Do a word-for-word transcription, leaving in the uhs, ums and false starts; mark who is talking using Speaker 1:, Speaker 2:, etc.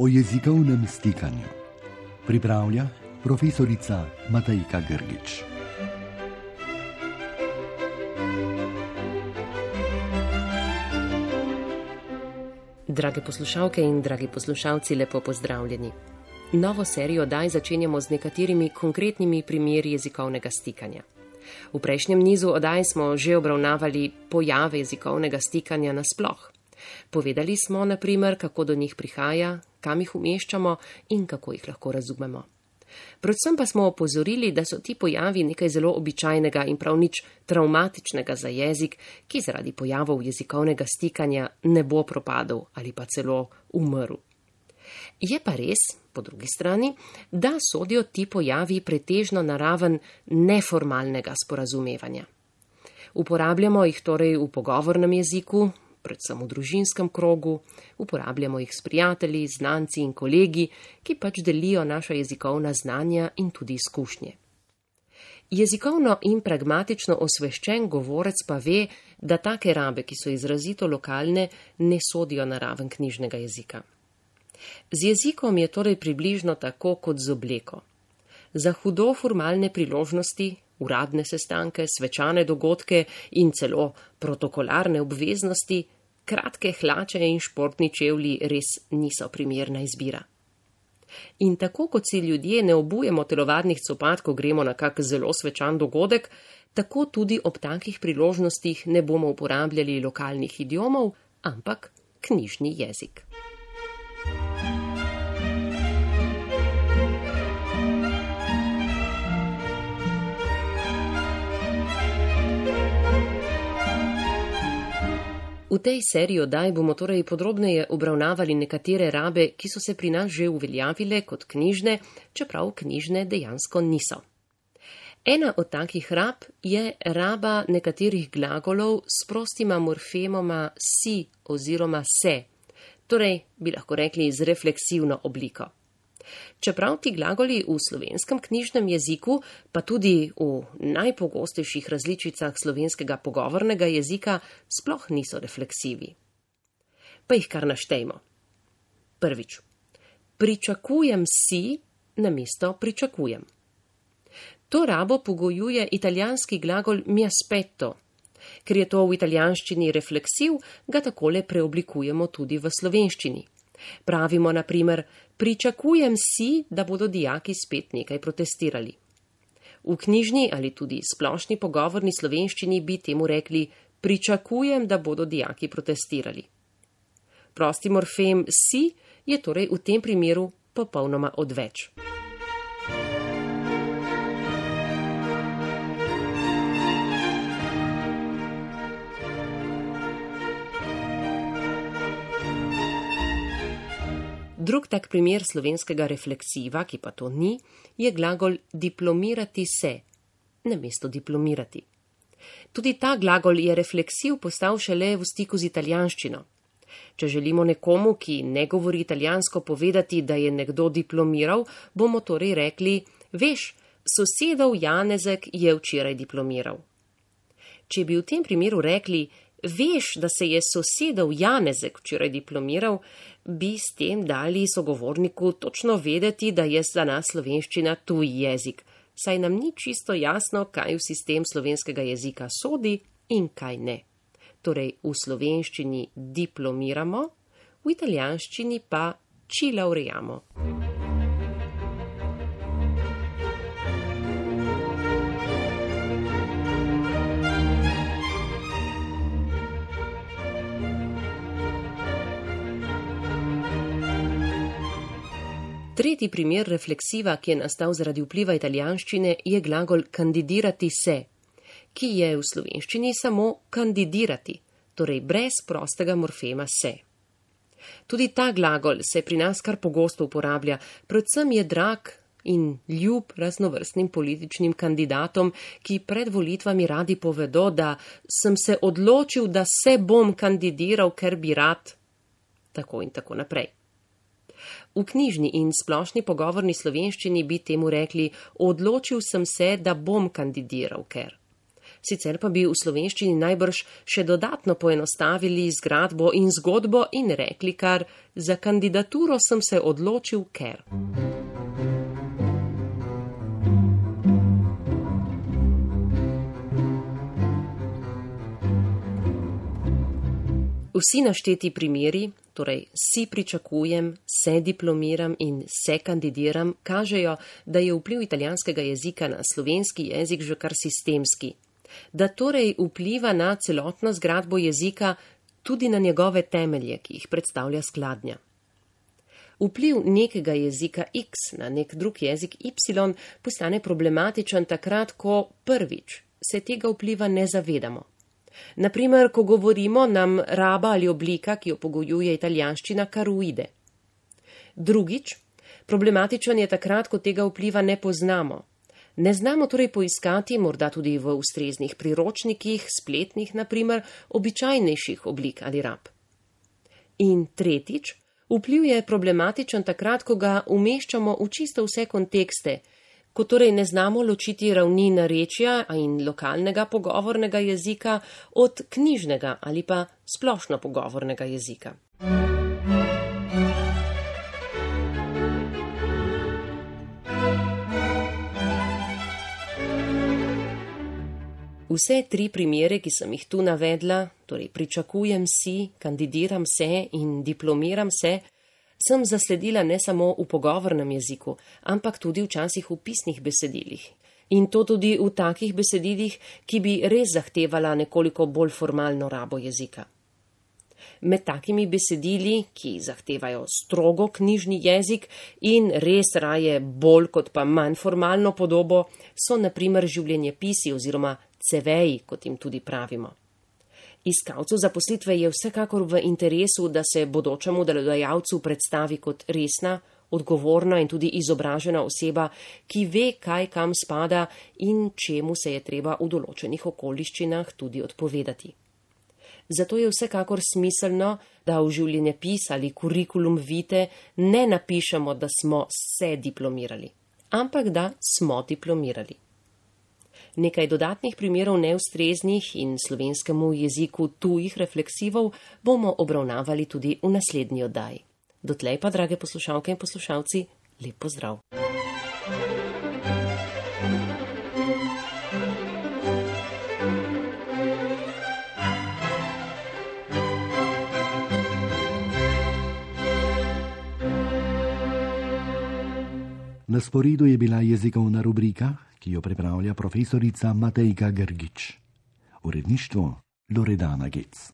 Speaker 1: o jezikovnem stikanju. Pripravlja profesorica Matejka Grgič.
Speaker 2: Drage poslušalke in dragi poslušalci, lepo pozdravljeni. Novo serijo oddaj začenjamo z nekaterimi konkretnimi primeri jezikovnega stikanja. V prejšnjem nizu oddaj smo že obravnavali pojave jezikovnega stikanja nasploh. Povedali smo, na primer, kako do njih prihaja, kam jih umeščamo in kako jih lahko razumemo. Predvsem pa smo opozorili, da so ti pojavi nekaj zelo običajnega in prav nič travmatičnega za jezik, ki zaradi pojavov jezikovnega stikanja ne bo propadel ali pa celo umrl. Je pa res, po drugi strani, da sodijo ti pojavi pretežno na raven neformalnega sporazumevanja. Uporabljamo jih torej v pogovornem jeziku, predvsem v družinskem krogu, uporabljamo jih s prijatelji, znanci in kolegi, ki pač delijo naša jezikovna znanja in tudi izkušnje. Jezikovno in pragmatično osveščen govorec pa ve, da take rabe, ki so izrazito lokalne, ne sodijo na raven knjižnega jezika. Z jezikom je torej približno tako kot z obleko. Za hudo formalne priložnosti, uradne sestanke, svečane dogodke in celo protokolarne obveznosti, kratke hlače in športni čevlji res niso primerna izbira. In tako kot si ljudje ne obujemo telovadnih copat, ko gremo na kak zelo svečan dogodek, tako tudi ob takih priložnostih ne bomo uporabljali lokalnih idiomov, ampak knjižni jezik. V tej seriji oddaj bomo torej podrobneje obravnavali nekatere rabe, ki so se pri nas že uveljavile kot knjižne, čeprav knjižne dejansko niso. Ena od takih rab je raba nekaterih glagolov s prostima morfemoma si oziroma se, torej bi lahko rekli z refleksivno obliko. Čeprav ti glagoli v slovenskem knjižnem jeziku, pa tudi v najpogostejših različicah slovenskega pogovornega jezika, sploh niso refleksivi. Pa jih kar naštejmo. Prvič. Pričakujem si namesto pričakujem. To rabo pogojuje italijanski glagol mi aspetto. Ker je to v italijanščini refleksiv, ga takole preoblikujemo tudi v slovenščini. Pravimo na primer, pričakujem si, da bodo dijaki spet nekaj protestirali. V knjižni ali tudi splošni pogovorni slovenščini bi temu rekli, pričakujem, da bodo dijaki protestirali. Prosti morfem si je torej v tem primeru popolnoma odveč. Drug tak primer slovenskega refleksiva, ki pa to ni, je glagol diplomirati se, namesto diplomirati. Tudi ta glagol je refleksiv postal šele v stiku z italijanščino. Če želimo nekomu, ki ne govori italijansko, povedati, da je nekdo diplomiral, bomo torej rekli, veš, sosedov Janezek je včeraj diplomiral. Če bi v tem primeru rekli, veš, da se je sosedov Janezek včeraj diplomiral, bi s tem dali sogovorniku točno vedeti, da je za nas slovenščina tuj jezik, saj nam ni čisto jasno, kaj v sistem slovenskega jezika sodi in kaj ne. Torej v slovenščini diplomiramo, v italijanščini pa ci laureamo. Tretji primer refleksiva, ki je nastal zaradi vpliva italijanščine, je glagol kandidirati se, ki je v slovenščini samo kandidirati, torej brez prostega morfema se. Tudi ta glagol se pri nas kar pogosto uporablja, predvsem je drag in ljub raznovrstnim političnim kandidatom, ki pred volitvami radi povedo, da sem se odločil, da se bom kandidiral, ker bi rad, tako in tako naprej. V knjižni in splošni pogovorni slovenščini bi temu rekli, odločil sem se, da bom kandidiral, ker. Sicer pa bi v slovenščini najbrž še dodatno poenostavili zgradbo in zgodbo in rekli kar: za kandidaturo sem se odločil, ker. Vsi našteti primeri, torej si pričakujem, se diplomiram in se kandidiram, kažejo, da je vpliv italijanskega jezika na slovenski jezik že kar sistemski, da torej vpliva na celotno zgradbo jezika, tudi na njegove temelje, ki jih predstavlja skladnja. Vpliv nekega jezika X na nek drug jezik Y postane problematičen takrat, ko prvič se tega vpliva ne zavedamo. Naprimer, ko govorimo, nam raba ali oblika, ki jo pogojuje italijanščina, kar uide. Drugič, problematičen je takrat, ko tega vpliva ne poznamo. Ne znamo torej poiskati, morda tudi v ustreznih priročnikih, spletnih naprimer, običajnejših oblik ali rab. In tretjič, vpliv je problematičen takrat, ko ga umeščamo v čisto vse kontekste, ko torej ne znamo ločiti ravni narečja in lokalnega pogovornega jezika od knjižnega ali pa splošno pogovornega jezika. Vse tri primere, ki sem jih tu navedla, torej pričakujem si, kandidiram se in diplomiram se, sem zasledila ne samo v pogovornem jeziku, ampak tudi včasih v pisnih besedilih. In to tudi v takih besedilih, ki bi res zahtevala nekoliko bolj formalno rabo jezika. Med takimi besedili, ki zahtevajo strogo knjižni jezik in res raje bolj kot pa manj formalno podobo, so na primer življenjepisi oziroma ceveji, kot jim tudi pravimo. Iskalcu zaposlitve je vsekakor v interesu, da se bodočemu delodajalcu predstavi kot resna, odgovorna in tudi izobražena oseba, ki ve, kaj kam spada in čemu se je treba v določenih okoliščinah tudi odpovedati. Zato je vsekakor smiselno, da v življenjepis ali kurikulum vitae ne napišemo, da smo se diplomirali, ampak da smo diplomirali. Nekaj dodatnih primerov neustreznih in slovenskemu jeziku tujih refleksivov bomo obravnavali tudi v naslednji oddaji. Dotlej pa, drage poslušalke in poslušalci, lep pozdrav.
Speaker 1: Na sporedu je bila jezikovna rubrika, ki jo pripravlja profesorica Matejka Grgič. Uredništvo Loredana Gec.